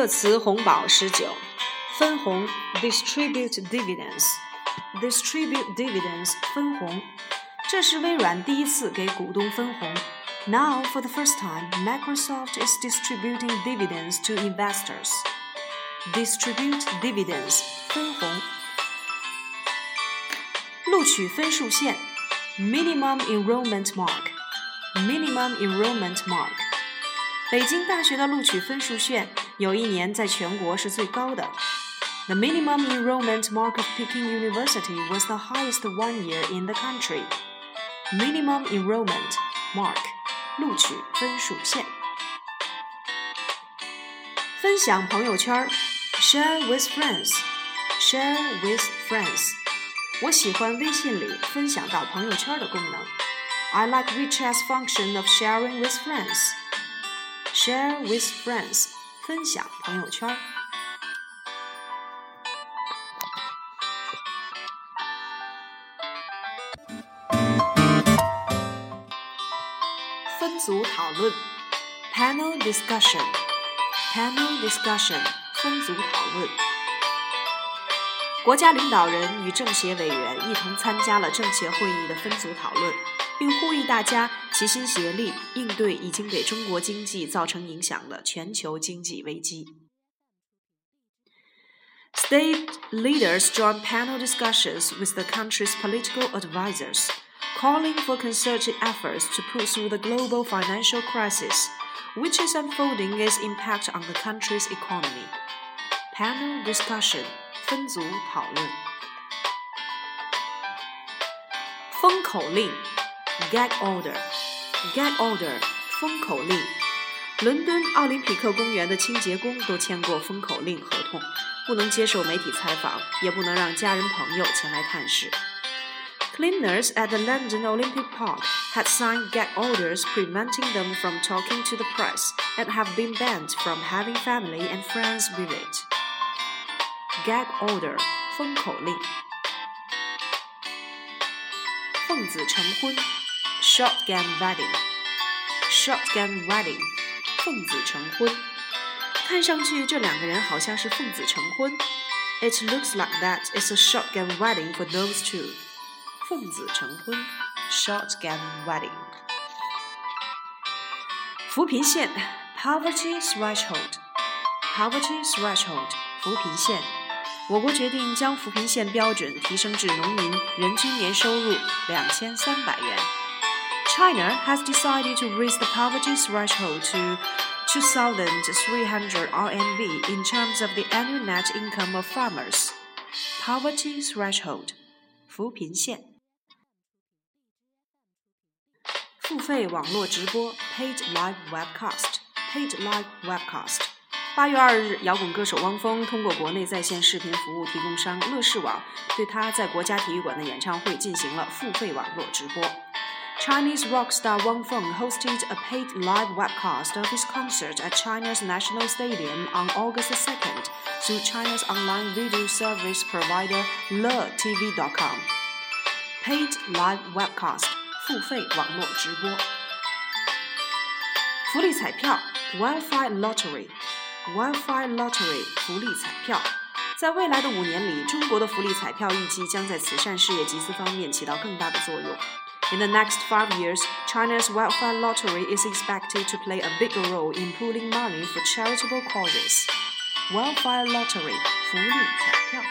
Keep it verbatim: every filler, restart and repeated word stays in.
热词红宝十九，分红 distribute dividends distribute dividends 分红，这是微软第一次给股东分红。Now, for the first time, Microsoft is distributing dividends to investors. Distribute dividends 分红。录取分数线 minimum enrollment mark minimum enrollment mark 北京大学的录取分数线有一年在全国是最高的。The minimum enrollment mark of Peking University was the highest one year in the country. Minimum enrollment mark 录取分数线。分享朋友圈 share with friends share with friends 我喜欢微信里分享到朋友圈的功能。I like WeChat's function of sharing with friends. Share with friends 分享朋友圈。分组讨论 Panel discussion Panel discussion 分组讨论。国家领导人与政协委员一同参加了政协会议的分组讨论，并呼吁大家齐心协力应对已经给中国经济造成影响的全球经济危机。State leaders joined panel discussions with the country's political advisors, calling for concerted efforts to pull through the global financial crisis, which is unfolding its impact on the country's economy. Panel discussion分组讨论。封口令 Gag order Gag order 封口令。伦敦奥林匹克公园的清洁工都签过封口令合同，不能接受媒体采访，也不能让家人朋友前来探视。Cleaners at the London Olympic Park had signed gag orders preventing them from talking to the press and have been banned from having family and friends visit. Gag order 封口令。奉子成婚 Shotgun wedding Shotgun wedding 奉子成婚。看上去这两个人好像是奉子成婚。It looks like that it's a shotgun wedding for those two. 奉子成婚 Shotgun wedding。扶贫线 Poverty threshold Poverty threshold 扶贫线。我国决定将扶贫线标准提升至农民人均年收入两千三百元。China has decided to raise the poverty threshold to two thousand three hundred R M B in terms of the annual net income of farmers. Poverty threshold 扶贫线。付费网络直播 Paid live webcast Paid live webcast八月二日，摇滚歌手汪峰通过国内在线视频服务提供商乐视网，对他在国家体育馆的演唱会进行了付费网络直播。Chinese rock star Wang Feng hosted a paid live webcast of his concert at China's National Stadium on August second through China's online video service provider le T V dot com. Paid live webcast 付费网络直播。福利彩票 Wildfire Lottery。Wildfire Lottery 福利彩票，在未来的五年里，中国的福利彩票预计将在慈善事业集资方面起到更大的作用。In the next five years, China's Wildfire Lottery is expected to play a bigger role in pooling money for charitable causes. Wildfire Lottery 福利彩票。